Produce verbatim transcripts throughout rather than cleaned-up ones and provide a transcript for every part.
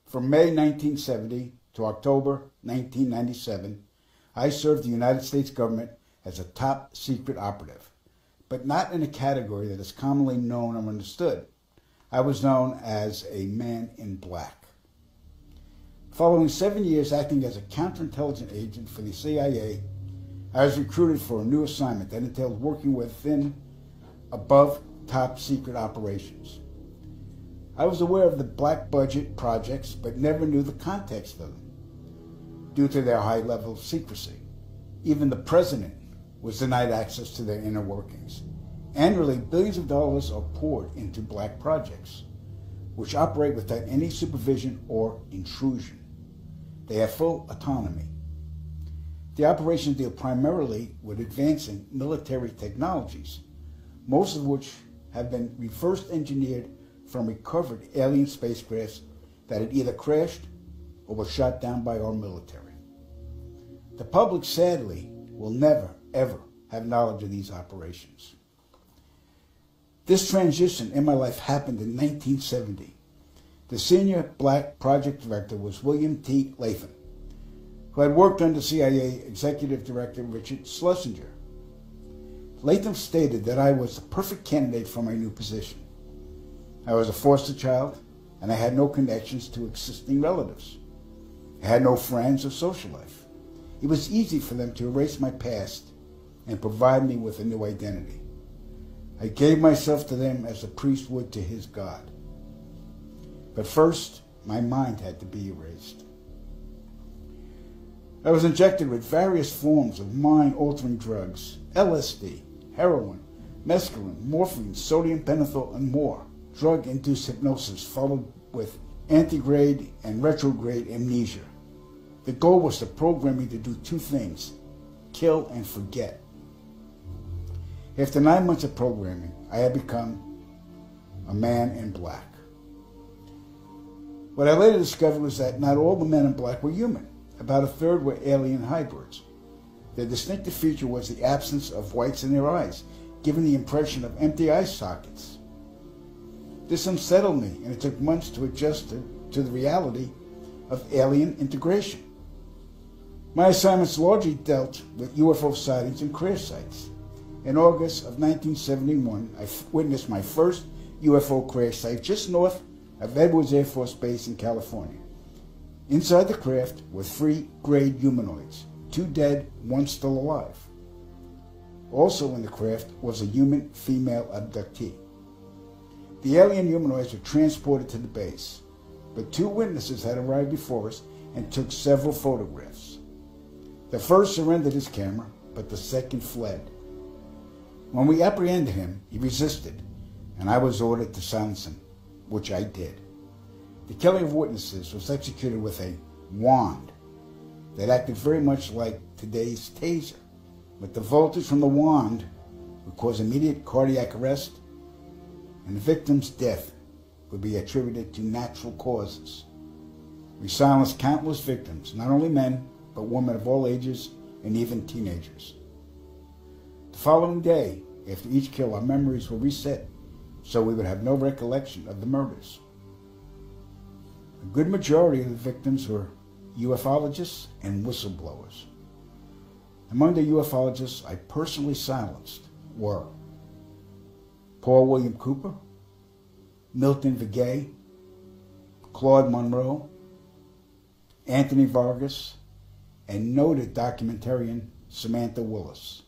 From May nineteen seventy to October nineteen ninety-seven, I served the United States government as a top secret operative, but not in a category that is commonly known or understood. I was known as a man in black. Following seven years acting as a counterintelligence agent for the C I A, I was recruited for a new assignment that entailed working within above top secret operations. I was aware of the black budget projects, but never knew the context of them due to their high level of secrecy. Even the president was denied access to their inner workings. Annually, billions of dollars are poured into black projects, which operate without any supervision or intrusion. They have full autonomy. The operations deal primarily with advancing military technologies, most of which have been reverse engineered from recovered alien spacecrafts that had either crashed or were shot down by our military. The public, sadly, will never, ever have knowledge of these operations. This transition in my life happened in nineteen seventy. The senior black project director was William T. Latham, who had worked under C I A Executive Director Richard Schlesinger. Latham stated that I was the perfect candidate for my new position. I was a foster child, and I had no connections to existing relatives. I had no friends or social life. It was easy for them to erase my past and provide me with a new identity. I gave myself to them as a priest would to his God. But first, my mind had to be erased. I was injected with various forms of mind-altering drugs, L S D, heroin, mescaline, morphine, sodium pentothal, and more. Drug-induced hypnosis followed with antegrade and retrograde amnesia. The goal was to program me to do two things: kill and forget. After nine months of programming, I had become a man in black. What I later discovered was that not all the men in black were human. About a third were alien hybrids. Their distinctive feature was the absence of whites in their eyes, giving the impression of empty eye sockets. This unsettled me, and it took months to adjust to, to the reality of alien integration. My assignments largely dealt with U F O sightings and crash sites. In August of nineteen seventy-one, I witnessed my first U F O crash site just north of Edwards Air Force Base in California. Inside the craft were three grayed humanoids, two dead, one still alive. Also in the craft was a human female abductee. The alien humanoids were transported to the base, but two witnesses had arrived before us and took several photographs. The first surrendered his camera, but the second fled. When we apprehended him, he resisted, and I was ordered to silence him, which I did. The killing of witnesses was executed with a wand that acted very much like today's taser, but the voltage from the wand would cause immediate cardiac arrest, and the victim's death would be attributed to natural causes. We silenced countless victims, not only men, but women of all ages and even teenagers. The following day, after each kill, our memories were reset, so we would have no recollection of the murders. A good majority of the victims were ufologists and whistleblowers. Among the ufologists I personally silenced were Paul William Cooper, Milton Vigay, Claude Monroe, Anthony Vargas, and noted documentarian Samantha Willis.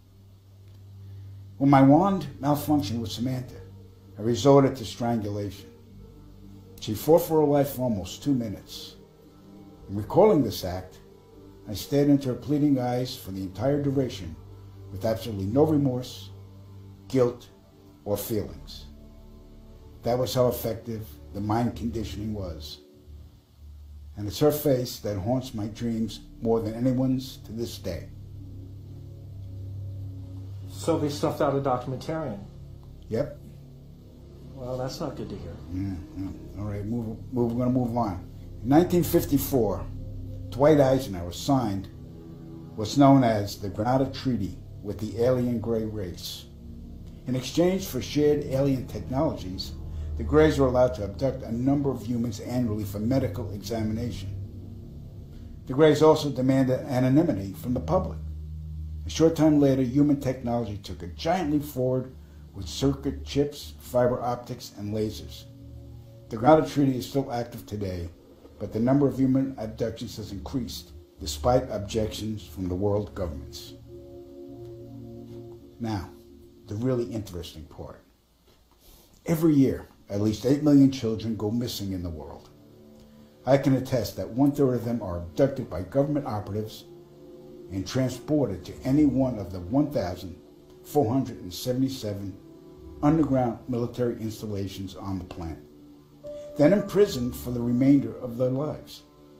When my wand malfunctioned with Samantha, I resorted to strangulation. She fought for her life for almost two minutes. In recalling this act, I stared into her pleading eyes for the entire duration with absolutely no remorse, guilt, or feelings. That was how effective the mind conditioning was. And it's her face that haunts my dreams more than anyone's to this day. So they stuffed out a documentarian? Yep. Well, that's not good to hear. Yeah, yeah. All right, move, move, we're going to move on. In nineteen fifty-four, Dwight Eisenhower signed what's known as the Granada Treaty with the alien gray race. In exchange for shared alien technologies, the Greys were allowed to abduct a number of humans annually for medical examination. The Greys also demanded anonymity from the public. A short time later, human technology took a giant leap forward with circuit chips, fiber optics, and lasers. The Grounded Treaty is still active today, but the number of human abductions has increased, despite objections from the world governments. Now, the really interesting part. Every year, at least eight million children go missing in the world. I can attest that one-third of them are abducted by government operatives and transported to any one of the one thousand four hundred seventy-seven underground military installations on the planet, then imprisoned for the remainder of their lives.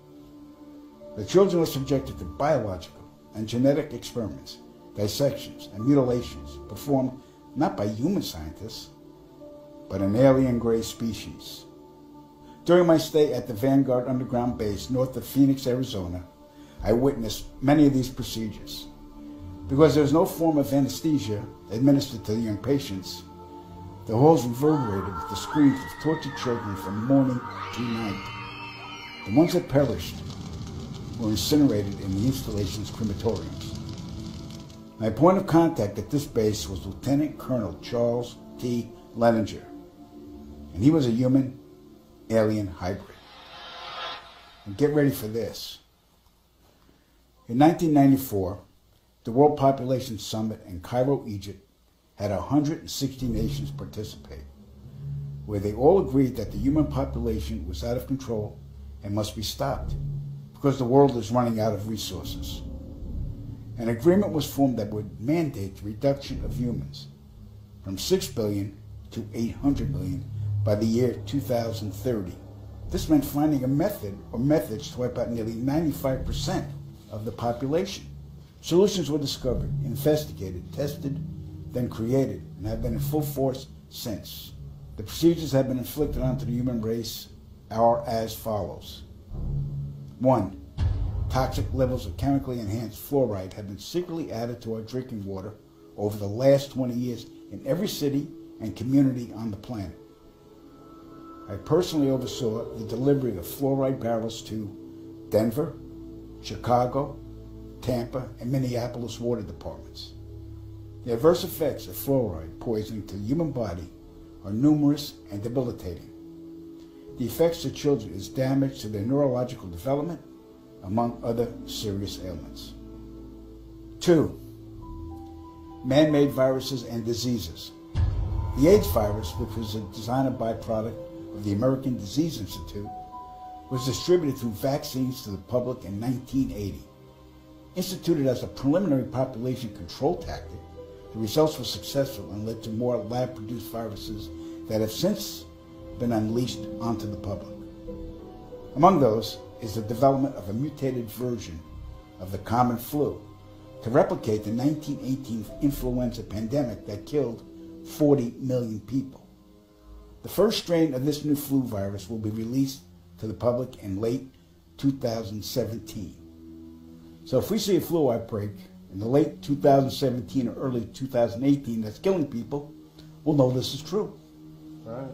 The children are subjected to biological and genetic experiments, dissections, and mutilations performed not by human scientists, but an alien Grey species. During my stay at the Vanguard Underground Base north of Phoenix, Arizona, I witnessed many of these procedures. Because there was no form of anesthesia administered to the young patients, the halls reverberated with the screams of tortured children from morning to night. The ones that perished were incinerated in the installation's crematoriums. My point of contact at this base was Lieutenant Colonel Charles T. Leninger, and he was a human-alien hybrid. And get ready for this. In nineteen ninety-four, the World Population Summit in Cairo, Egypt, had one hundred sixty nations participate, where they all agreed that the human population was out of control and must be stopped because the world is running out of resources. An agreement was formed that would mandate the reduction of humans from six billion to eight hundred million by the year two thousand thirty. This meant finding a method or methods to wipe out nearly ninety-five percent of the population. Solutions were discovered, investigated, tested, then created, and have been in full force since. The procedures have been inflicted onto the human race are as follows. One, toxic levels of chemically enhanced fluoride have been secretly added to our drinking water over the last twenty years in every city and community on the planet. I personally oversaw the delivery of fluoride barrels to Denver, Chicago, Tampa, and Minneapolis water departments. The adverse effects of fluoride poisoning to the human body are numerous and debilitating. The effects to children is damage to their neurological development, among other serious ailments. Two, man-made viruses and diseases. The AIDS virus, which was a designer byproduct of the American Disease Institute, was distributed through vaccines to the public in nineteen eighty. Instituted as a preliminary population control tactic, the results were successful and led to more lab-produced viruses that have since been unleashed onto the public. Among those is the development of a mutated version of the common flu to replicate the nineteen eighteen influenza pandemic that killed forty million people. The first strain of this new flu virus will be released to the public in late two thousand seventeen. So if we see a flu outbreak in the late two thousand seventeen or early two thousand eighteen that's killing people, we'll know this is true. Right.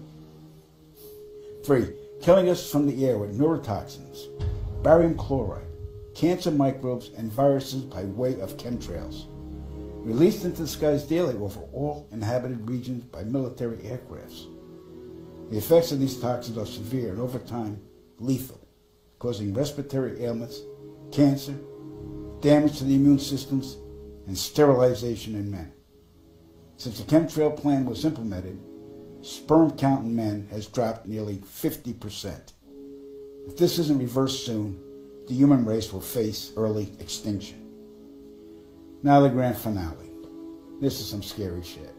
Three, killing us from the air with neurotoxins, barium chloride, cancer microbes, and viruses by way of chemtrails, released into the skies daily over all inhabited regions by military aircrafts. The effects of these toxins are severe and over time lethal, causing respiratory ailments, cancer, damage to the immune systems, and sterilization in men. Since the chemtrail plan was implemented, sperm count in men has dropped nearly fifty percent. If this isn't reversed soon, the human race will face early extinction. Now the grand finale. This is some scary shit.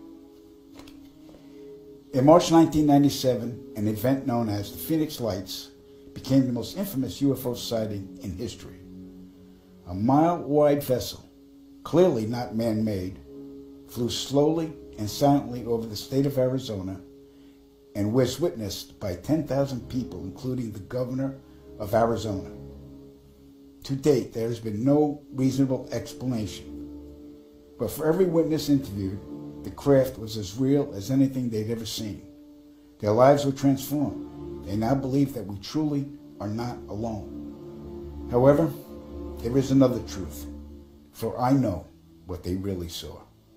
In March nineteen ninety-seven, an event known as the Phoenix Lights became the most infamous U F O sighting in history. A mile-wide vessel, clearly not man-made, flew slowly and silently over the state of Arizona and was witnessed by ten thousand people, including the governor of Arizona. To date, there has been no reasonable explanation. But for every witness interviewed, the craft was as real as anything they'd ever seen. Their lives were transformed. They now believe that we truly are not alone. However, there is another truth, for I know what they really saw.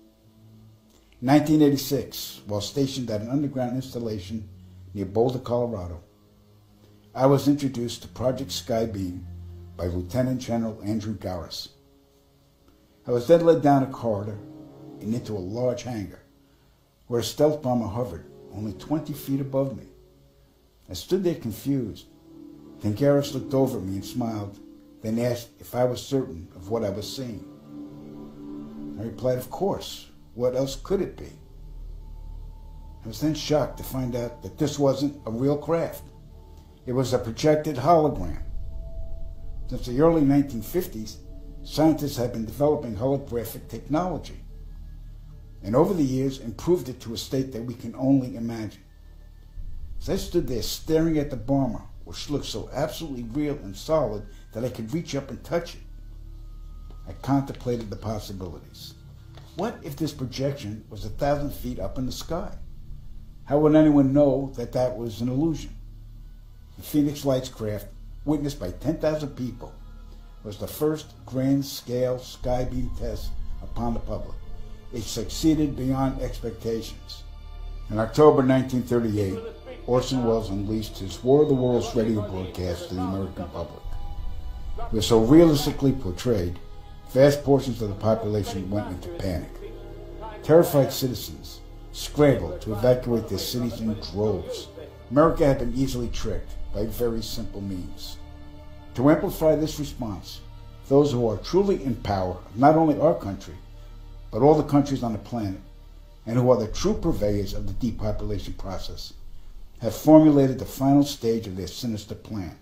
In nineteen eighty-six, while stationed at an underground installation near Boulder, Colorado, I was introduced to Project Skybeam by Lieutenant General Andrew Garris. I was then led down a corridor and into a large hangar where a stealth bomber hovered only twenty feet above me. I stood there confused. Then Garris looked over at me and smiled, then asked if I was certain of what I was seeing. I replied, of course. What else could it be? I was then shocked to find out that this wasn't a real craft. It was a projected hologram. Since the early nineteen fifties, scientists have been developing holographic technology, and over the years improved it to a state that we can only imagine. As I stood there staring at the bomber, which looked so absolutely real and solid that I could reach up and touch it, I contemplated the possibilities. What if this projection was a thousand feet up in the sky? How would anyone know that that was an illusion? The Phoenix Lights craft, witnessed by ten thousand people, was the first grand-scale skybeam test upon the public. It succeeded beyond expectations. In October nineteen thirty-eight, Orson Welles unleashed his War of the Worlds radio broadcast to the American public. It was so realistically portrayed, vast portions of the population went into panic. Terrified citizens scrambled to evacuate their cities in droves. America had been easily tricked by very simple means. To amplify this response, those who are truly in power of not only our country, but all the countries on the planet, and who are the true purveyors of the depopulation process, have formulated the final stage of their sinister plan.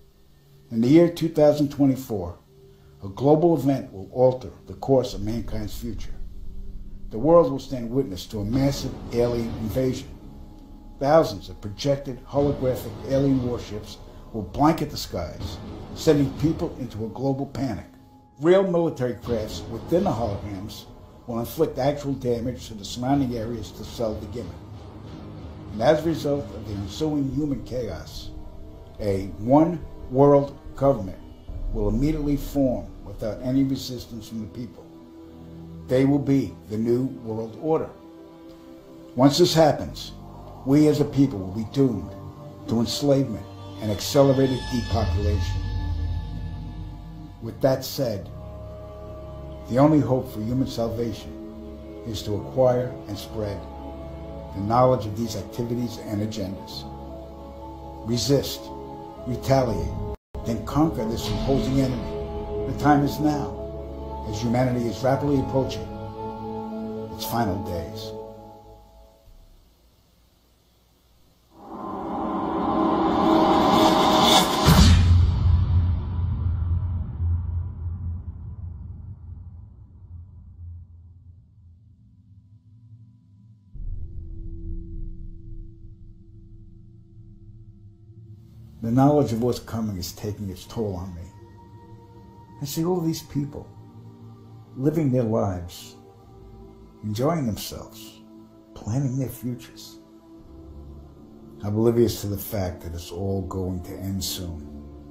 In the year two thousand twenty-four, a global event will alter the course of mankind's future. The world will stand witness to a massive alien invasion. Thousands of projected holographic alien warships will blanket the skies, sending people into a global panic. Real military crafts within the holograms will inflict actual damage to the surrounding areas to sell the gimmick. And as a result of the ensuing human chaos, a one-world government will immediately form without any resistance from the people. They will be the new world order. Once this happens, we as a people will be doomed to enslavement and accelerated depopulation. With that said, the only hope for human salvation is to acquire and spread the knowledge of these activities and agendas. Resist, retaliate, then conquer this imposing enemy. The time is now, as humanity is rapidly approaching its final days. The knowledge of what's coming is taking its toll on me. I see all these people living their lives, enjoying themselves, planning their futures, oblivious to the fact that it's all going to end soon.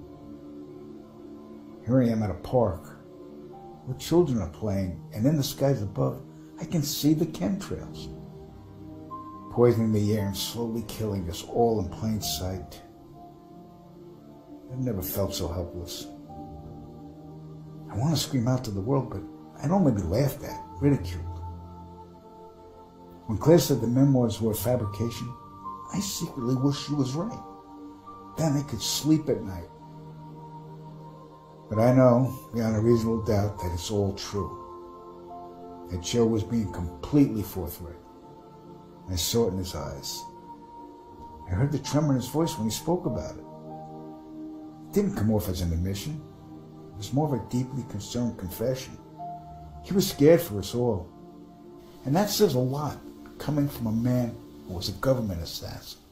Here I am at a park where children are playing, and in the skies above, I can see the chemtrails, poisoning the air and slowly killing us all in plain sight. I've never felt so helpless. I want to scream out to the world, but I'd only be laughed at, ridiculed. When Claire said the memoirs were a fabrication, I secretly wished she was right. Then I could sleep at night. But I know, beyond a reasonable doubt, that it's all true. That Joe was being completely forthright. I saw it in his eyes. I heard the tremor in his voice when he spoke about it. It didn't come off as an admission. It was more of a deeply concerned confession. He was scared for us all. And that says a lot, coming from a man who was a government assassin.